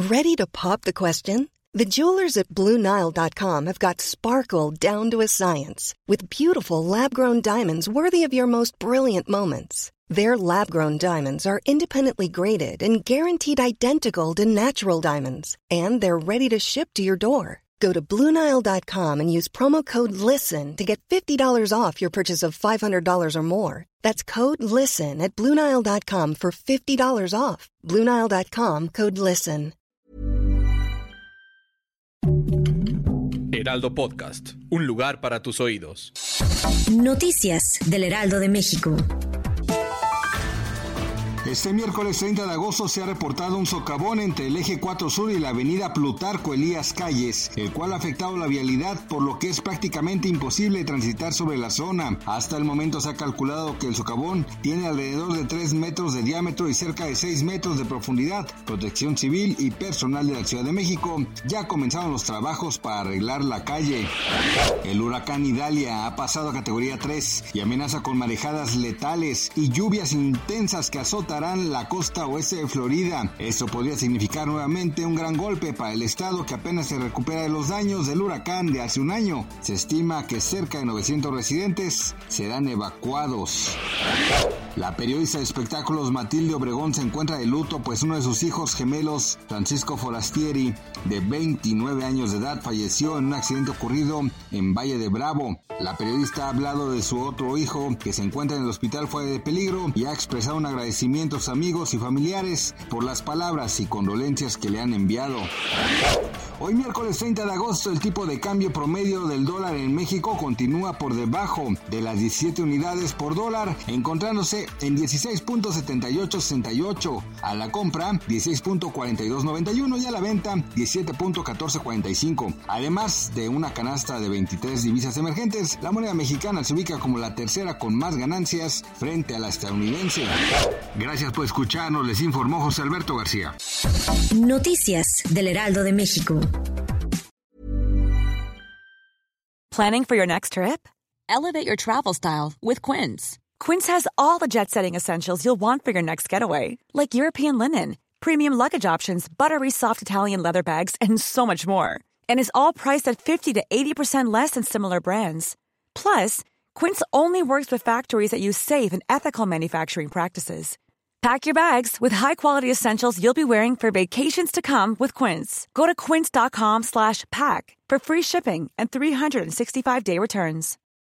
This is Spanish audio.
Ready to pop the question? The jewelers at BlueNile.com have got sparkle down to a science with beautiful lab-grown diamonds worthy of your most brilliant moments. Their lab-grown diamonds are independently graded and guaranteed identical to natural diamonds, and they're ready to ship to your door. Go to BlueNile.com and use promo code LISTEN to get $50 off your purchase of $500 or more. That's code LISTEN at BlueNile.com for $50 off. BlueNile.com, code LISTEN. Heraldo Podcast, un lugar para tus oídos. Noticias del Heraldo de México. Este miércoles 30 de agosto se ha reportado un socavón entre el eje 4 Sur y la avenida Plutarco Elías Calles, el cual ha afectado la vialidad, por lo que es prácticamente imposible transitar sobre la zona. Hasta el momento se ha calculado que el socavón tiene alrededor de 3 metros de diámetro y cerca de 6 metros de profundidad. Protección Civil y personal de la Ciudad de México ya comenzaron los trabajos para arreglar la calle. El huracán Idalia ha pasado a categoría 3 y amenaza con marejadas letales y lluvias intensas que azotan la costa oeste de Florida. Esto podría significar nuevamente un gran golpe para el estado, que apenas se recupera de los daños del huracán de hace un año. Se estima que cerca de 900 residentes serán evacuados. La periodista de espectáculos Matilde Obregón se encuentra de luto, pues uno de sus hijos gemelos, Francisco Forastieri, de 29 años de edad, falleció en un accidente ocurrido en Valle de Bravo. La periodista ha hablado de su otro hijo, que se encuentra en el hospital fuera de peligro, y ha expresado un agradecimiento a sus amigos y familiares por las palabras y condolencias que le han enviado. Hoy miércoles 30 de agosto, el tipo de cambio promedio del dólar en México continúa por debajo de las 17 unidades por dólar, encontrándose en 16.7868, a la compra 16.4291 y a la venta 17.1445. Además de una canasta de 23 divisas emergentes, la moneda mexicana se ubica como la tercera con más ganancias frente a la estadounidense. Gracias por escucharnos, les informó José Alberto García. Noticias del Heraldo de México. Planning for your next trip? Elevate your travel style with Quince. Quince has all the jet-setting essentials you'll want for your next getaway, like European linen, premium luggage options, buttery soft Italian leather bags, and so much more. And is all priced at 50 to 80% less than similar brands. Plus, Quince only works with factories that use safe and ethical manufacturing practices. Pack your bags with high-quality essentials you'll be wearing for vacations to come with Quince. Go to quince.com/pack for free shipping and 365-day returns.